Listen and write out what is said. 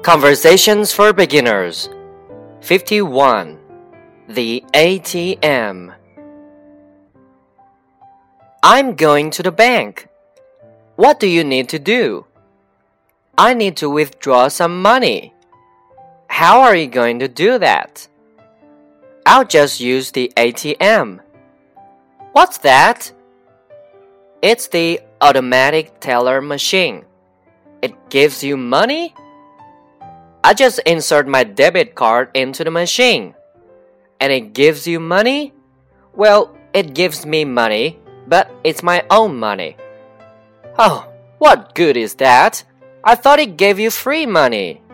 Conversations for Beginners 51. The ATM. I'm going to the bank. What do you need to do? I need to withdraw some money. How are you going to do that? I'll just use the ATM. What's that? It's the automatic teller machine. It gives you money? I just insert my debit card into the machine. And it gives you money? Well, it gives me money, but it's my own money. Oh, what good is that? I thought it gave you free money.